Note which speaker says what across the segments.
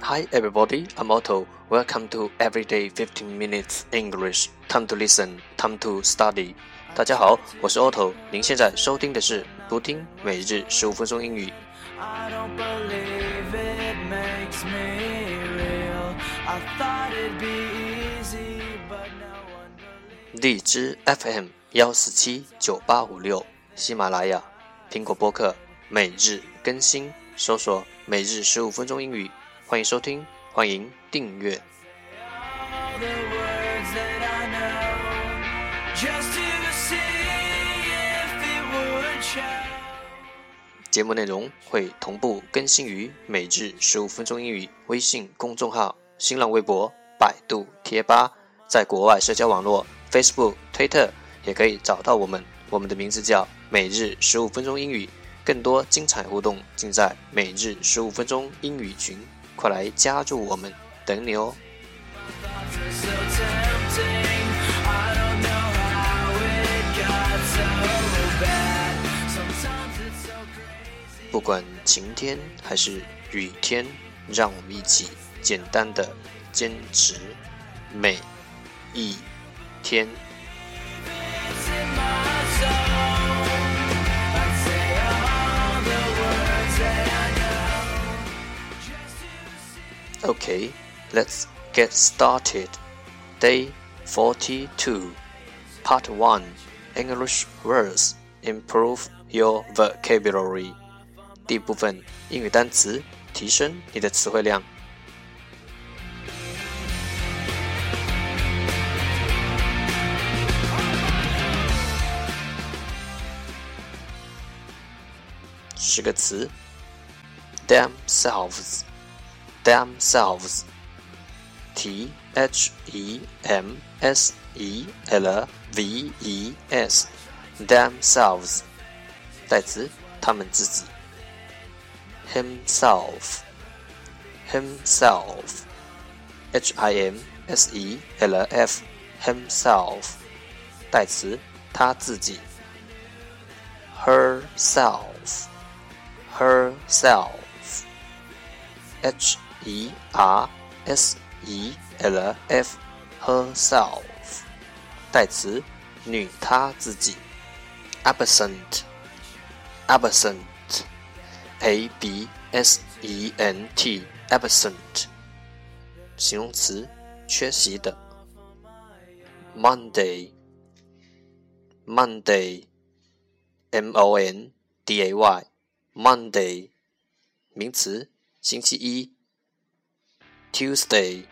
Speaker 1: Hi everybody, I'm Otto. Welcome to Everyday 15 Minutes English. Time to listen, time to study. 大家好，我是 Otto。您现在收听的是读听每日15分钟英语。荔枝 FM 1479856，喜马拉雅、苹果播客每日更新，搜索每日15分钟英语。欢迎收听，欢迎订阅。节目内容会同步更新于每日15分钟英语微信公众号、新浪微博、百度贴吧，在国外社交网络 Facebook、Twitter 也可以找到我们。我们的名字叫每日15分钟英语，更多精彩互动尽在每日15分钟英语群。快来加入我们，等你哦！不管晴天还是雨天，让我们一起简单的坚持每一天。Okay, let's get started. Day 42, Part 1, English words. Improve your vocabulary. 第一部分，英语单词，提升你的词汇量。10个词 themselves, T-H-E-M-S-E-L-V-E-S, themselves, 代词，他们自己。himself, H-I-M-S-E-L-F, himself, 代词，他自己。herself, H-E-R-S-E-L-F, herself, 代词，女她自己。absent, A-B-S-E-N-T, absent, 形容词，缺席的。Monday, M-O-N-D-A-Y, Monday, 名词，星期一。Tuesday,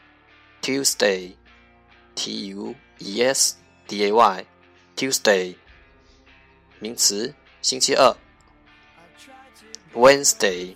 Speaker 1: T-U-E-S-D-A-Y, Tuesday, 名词，星期二。Wednesday,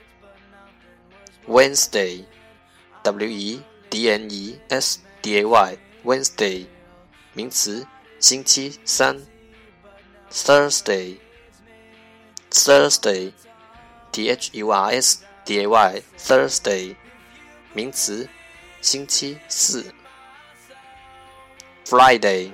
Speaker 1: W-E-D-N-E-S-D-A-Y, Wednesday, 名词，星期三。Thursday, T-H-U-R-S-D-A-Y, Thursday, 名词，星期四。Friday,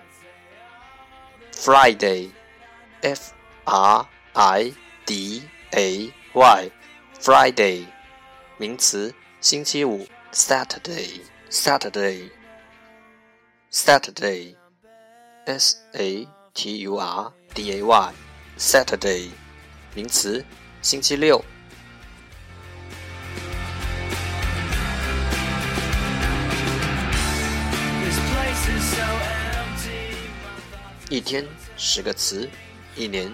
Speaker 1: F-R-I-D-A-Y, Friday, 名词，星期五。Saturday, S-A-T-U-R-D-A-Y, Saturday, 名词，星期六。一天10个词，一年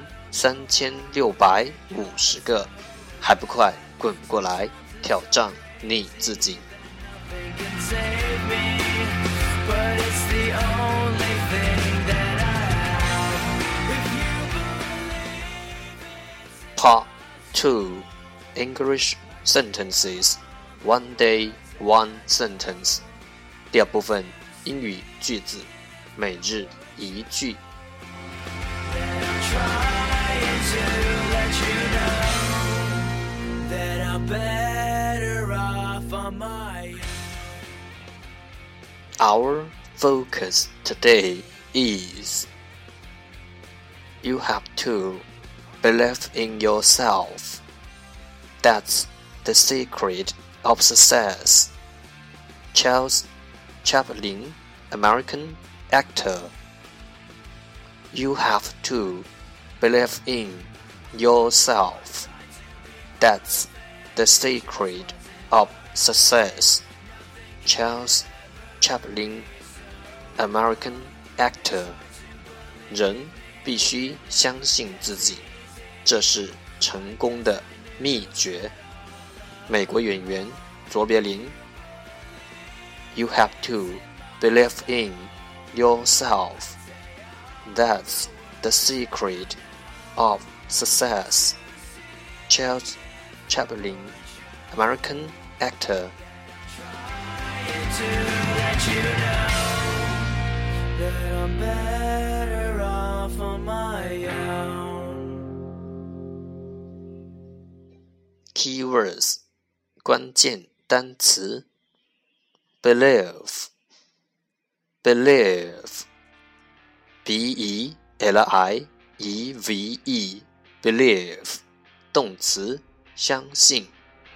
Speaker 1: 3650个，还不快滚过来，挑战你自己。Part 2, English sentences, one day, one sentence. 第二部分，英语句子，每日一句。Our focus today is you have to believe in yourself. That's the secret of Success. Charles Chaplin, American actor. You have to believe in yourself. That's the secret of success. Charles Chaplin, American actor. 人必须相信自己，这是成功的秘诀。美国演员卓别林。You have to believe in yourself. That's the secret of success. Charles Chaplin, American actor. Keywords 关键单词 Believe B-E-L-I-E-V-E Believe 动词相信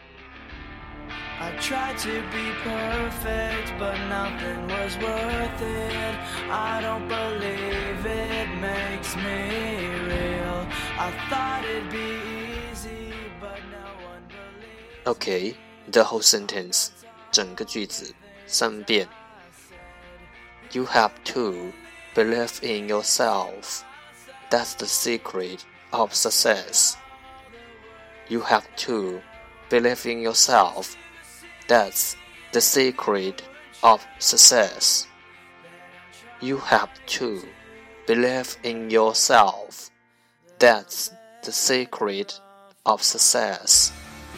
Speaker 2: I tried to be perfect, but nothing was worth it. I don't believe it makes me real. I thought it'd be easy, but no one believes.
Speaker 1: Okay, the whole sentence 整个句子3遍 You have to believe in yourself. That's the secret of success. You have to believe in yourself. That's the secret of success. You have to believe in yourself. That's the secret of success.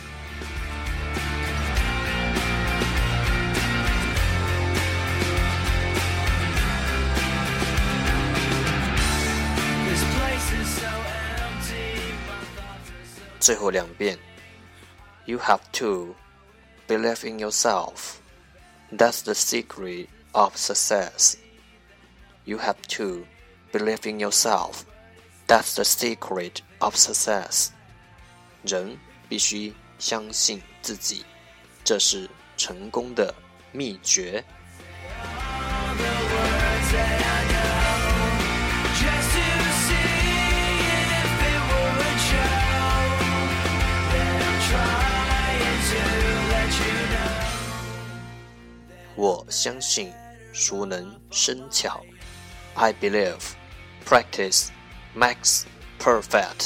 Speaker 2: This place is so empty, my thoughts are so
Speaker 1: 最后2遍 You have to believe in yourself. That's the secret of success. You have to believe in yourself. That's the secret of success. 人必须相信自己，这是成功的秘诀。
Speaker 2: all the words that I know, just to see if it would show that I'm trying to let you know.
Speaker 1: 我相信熟能生巧。I believe practice makes perfect.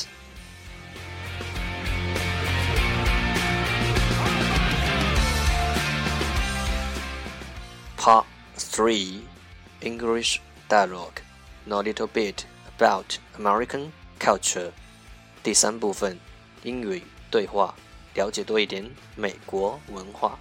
Speaker 1: Part 3 English Dialogue. Know a little bit about American culture. 第3部分英语对话，了解多一点美国文化。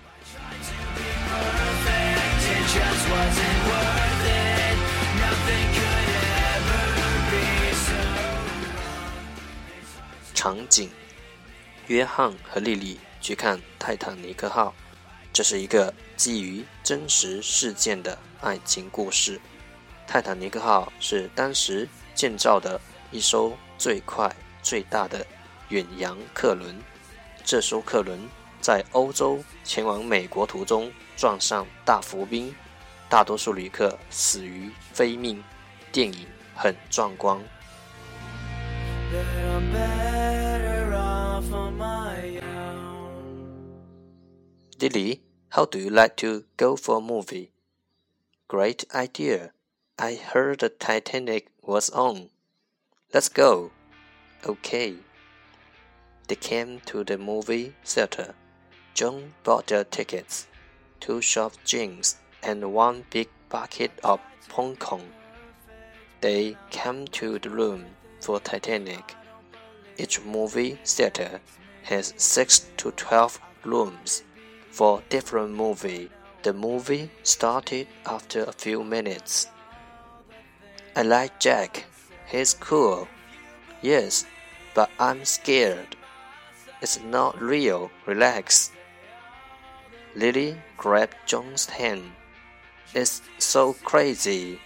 Speaker 2: It just wasn't worth it. Nothing could ever be so.
Speaker 1: 场景：约翰和莉莉去看泰坦尼克号，这是一个基于真实事件的爱情故事。泰坦尼克号是当时建造的一艘最快最大的远洋客轮。这艘客轮在欧洲前往美国途中撞上大浮冰，大多数旅客死于非命。电影很壮观。
Speaker 2: That I'm better off on my own.
Speaker 1: Lily, how do you like to go for a movie? Great idea. I heard the Titanic was on. Let's go. Okay. They came to the movie theater. John bought their tickets, 2 soft drinks, and 1 big bucket of popcorn. They came to the room for Titanic. Each movie theater has 6 to 12 rooms. For different movie, the movie started after a few minutes. I like Jack. He's cool. Yes, but I'm scared. It's not real. Relax. Lily grabbed John's hand. It's so crazy.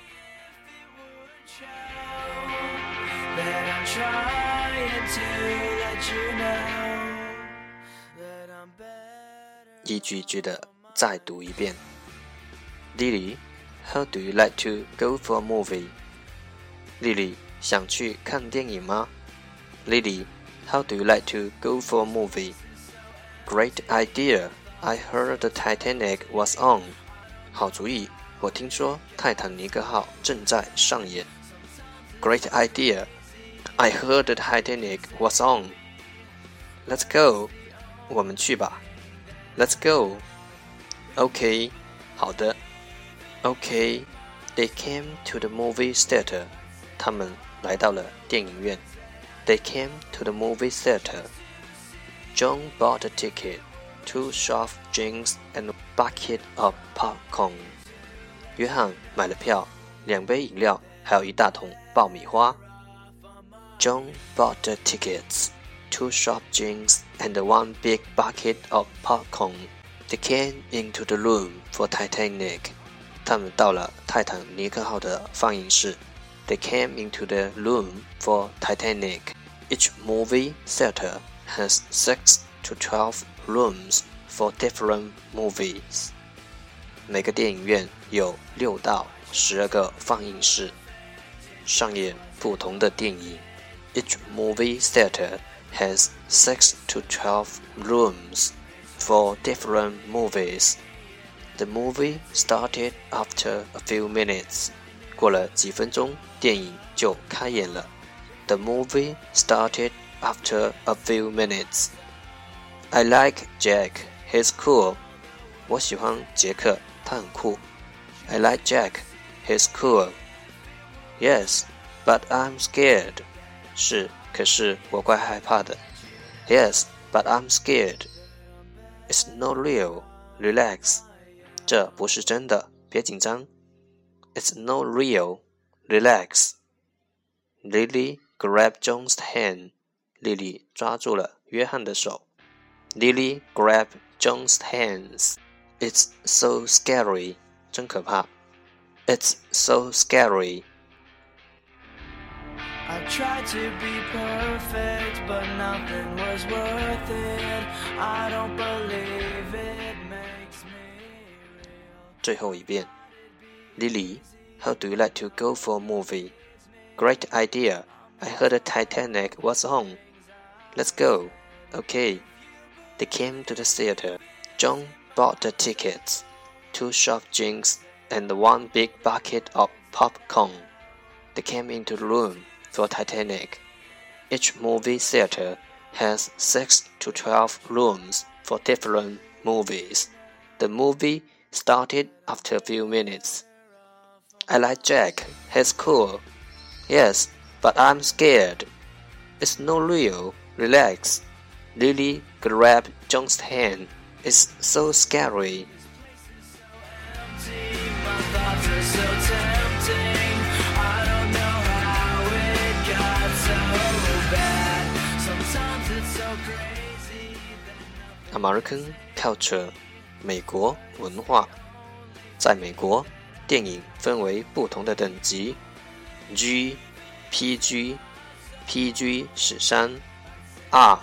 Speaker 2: That I'm trying to let you know that I'm better.
Speaker 1: 一句一句的再读一遍。Lily, how do you like to go for a movie? 莉莉，想去看电影吗？ Lily, how do you like to go for a movie? Great idea. I heard the Titanic was on. 好主意，我听说泰坦尼克号正在上演。Great idea. I heard the Titanic was on. Let's go. 我们去吧。Let's go. Okay. 好的。Okay. They came to the movie theater. 他们来到了电影院。They came to the movie theater. John bought a ticket, 2 soft drinks and a bucket of popcorn. 约翰买了票，2杯饮料，还有一大桶爆米花。John bought the tickets, 2 soft drinks and 1 big bucket of popcorn. They came into the room for Titanic. 他们到了泰坦尼克号的放映室。They came into the room for Titanic. Each movie theater has 6 to 12 rooms for different movies. 每个电影院有6到12个放映室，上演不同的电影。Each movie theater has 6 to 12 rooms for different movies. The movie started after a few minutes. 过了几分钟，电影就开演了。The movie started after a few minutes. I like Jack. He's cool. 我喜欢杰克，他很酷。I like Jack. He's cool. Yes, but I'm scared. 是，可是我怪害怕的。Yes, but I'm scared. It's not real. Relax. 这不是真的，别紧张。It's not real. Relax. Lily grabbed John's hand. 莉莉抓住了约翰的手。Lily grabbed John's hands. It's so scary. 真可怕。It's so scary.
Speaker 2: I tried to be perfect, but nothing was worth it. I don't believe it makes me real.
Speaker 1: 最后一遍。Lily, how do you like to go for a movie? Great idea. I heard the Titanic was on. Let's go. Okay. They came to the theater. John bought the tickets, 2 soft drinks, and 1 big bucket of popcorn. They came into the room for Titanic. Each movie theater has 6 to 12 rooms for different movies. The movie started after a few minutes. I like Jack. He's cool. Yes, but I'm scared. It's not real. Relax. Lily grabbed John's hand. It's so scary.
Speaker 2: My thoughts are so tempting. I don't know how it got so bad. Sometimes it's so crazy that
Speaker 1: American culture. 美国文化。在美国，电影分为不同的等级 G, PG, PG 13 R,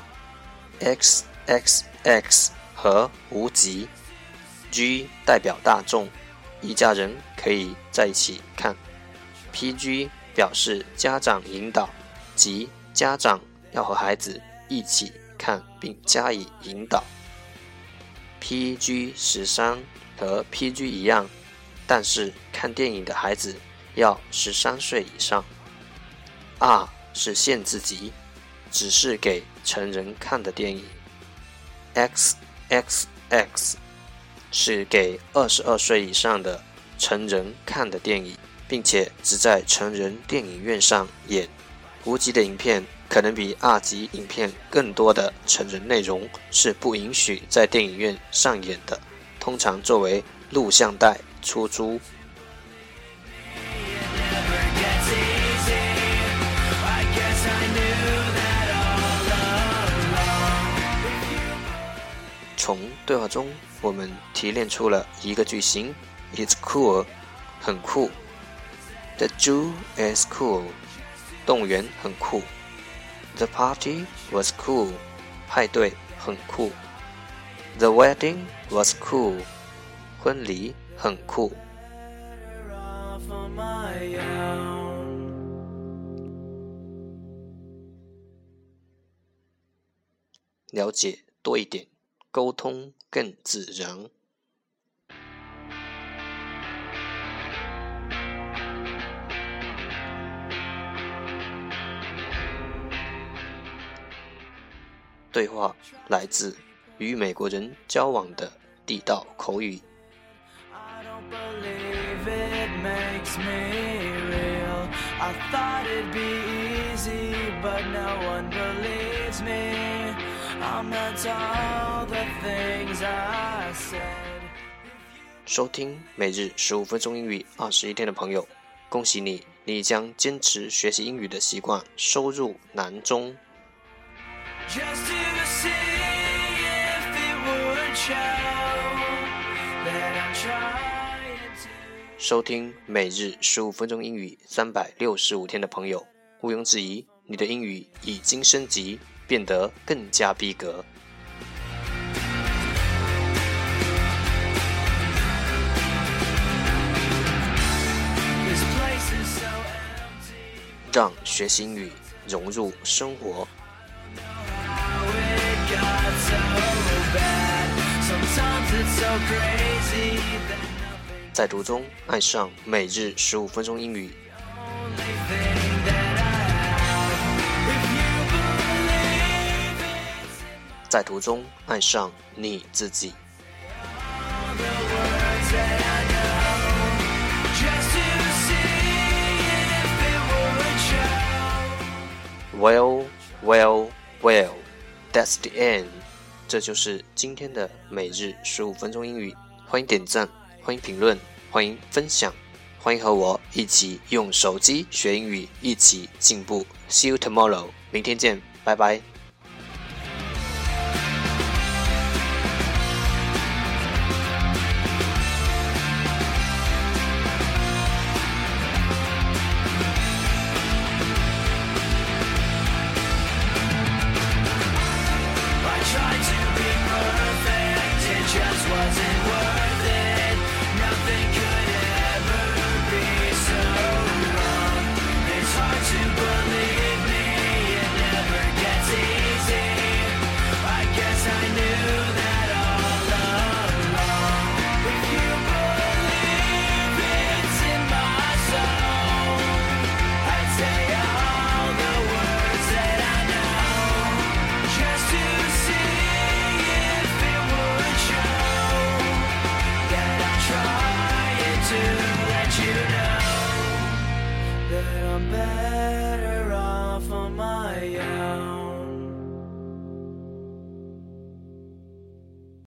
Speaker 1: XXX 和无级。G 代表大众，一家人可以在一起看。PG 表示家长引导，即家长要和孩子一起看并加以引导。PG 13和 PG 一样，但是看电影的孩子要13岁以上。R 是限制级，只是给成人看的电影。XXX 是给22岁以上的成人看的电影，并且只在成人电影院上演。无级的影片可能比2级影片更多的成人内容是不允许在电影院上演的，通常作为录像带出租。从对话中，我们提炼出了一个句型 ：It's cool， 很酷。The zoo is cool， 动物园很酷。The party was cool， 派对很酷。The wedding was cool， 婚礼很酷。了解多一点，沟通更自然。对话来自与美国人交往的地道口语。收听每日15分钟英语21天的朋友，恭喜你，你将坚持学习英语的习惯收入囊中。收听每日15分钟英语365天的朋友，毋庸置疑，你的英语已经升级，变得更加逼格。让学习英语融入生活。在途中爱上每日15分钟英语。在途中爱上你自己。Well, that's the end. 这就是今天的每日15分钟英语。欢迎点赞，欢迎评论，欢迎分享，欢迎和我一起用手机学英语，一起进步。See you tomorrow. 明天见，拜拜。
Speaker 2: I'm better